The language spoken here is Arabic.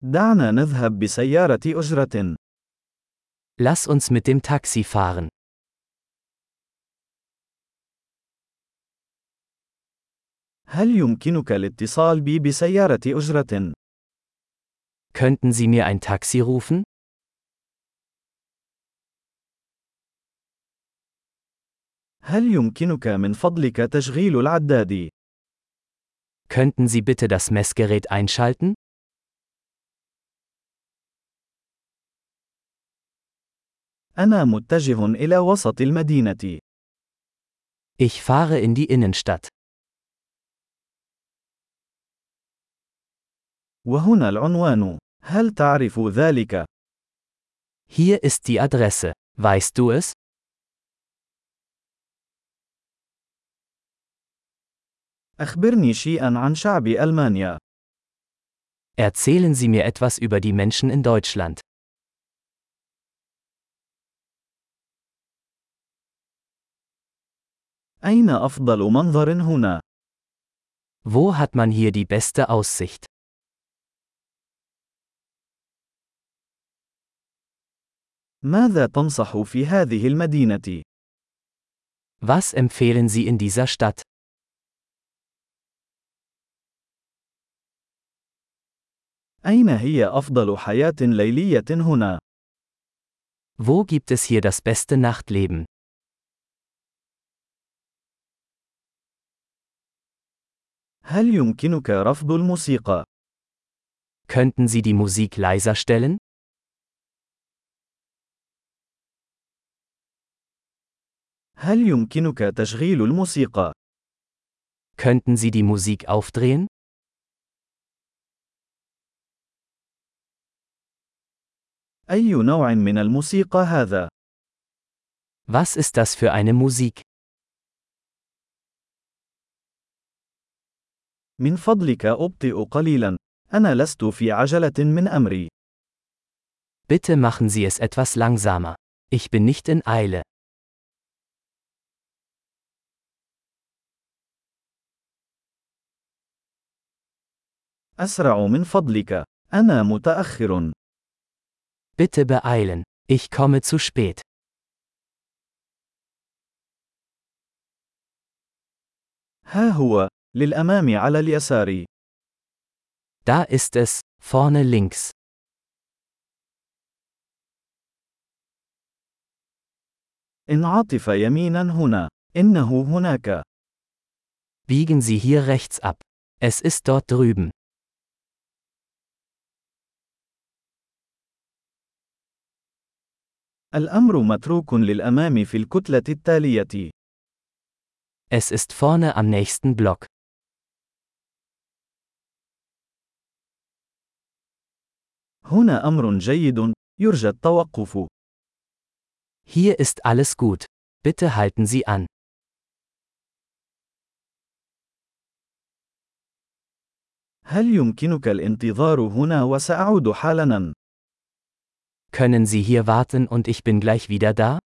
دعنا نذهب بسيارة أجرة. Lass uns mit dem Taxi fahren. هل يمكنك الاتصال بي بسيارة أجرة؟ Könnten Sie mir ein Taxi rufen? هل يمكنك من فضلك تشغيل العداد؟ Könnten Sie bitte das Messgerät einschalten? أنا متجه إلى وسط المدينة. Ich fahre in die Innenstadt. وهنا العنوان. هل تعرف ذلك؟ Hier ist die Adresse. Weißt du es? أخبرني شيئًا عن شعب ألمانيا. Erzählen Sie mir etwas über die Menschen in Deutschland. أين أفضل منظر هنا؟ Wo hat man hier die beste Aussicht? ماذا تنصح في هذه المدينة؟ Was empfehlen Sie in dieser Stadt? أين هي أفضل حياة ليلية هنا؟ Wo gibt es hier das beste Nachtleben? هل يمكنك رفض الموسيقى؟ Könnten Sie die Musik leiser stellen? هل يمكنك تشغيل الموسيقى؟ Könnten Sie die Musik aufdrehen? أي نوع من الموسيقى هذا؟ Was ist das für eine Musik? من فضلك أبطئ قليلاً. أنا لست في عجلة من أمري. Bitte machen Sie es etwas langsamer. Ich bin nicht in Eile. أسرع من فضلك. أنا متأخر. Bitte beeilen. Ich komme zu spät. ها هو. للأمام على اليسار. Da ist es, vorne links. انعطف يميناً هنا. إنه هناك. Biegen Sie hier rechts ab. Es ist dort drüben. الأمر متروك للأمام في الكتلة التالية. Es ist vorne am nächsten Block. هنا أمر جيد. يرجى التوقف. Hier ist alles gut. Bitte halten Sie an. هل يمكنك الانتظار هنا وسأعود حالاً؟ Können Sie hier warten und ich bin gleich wieder da?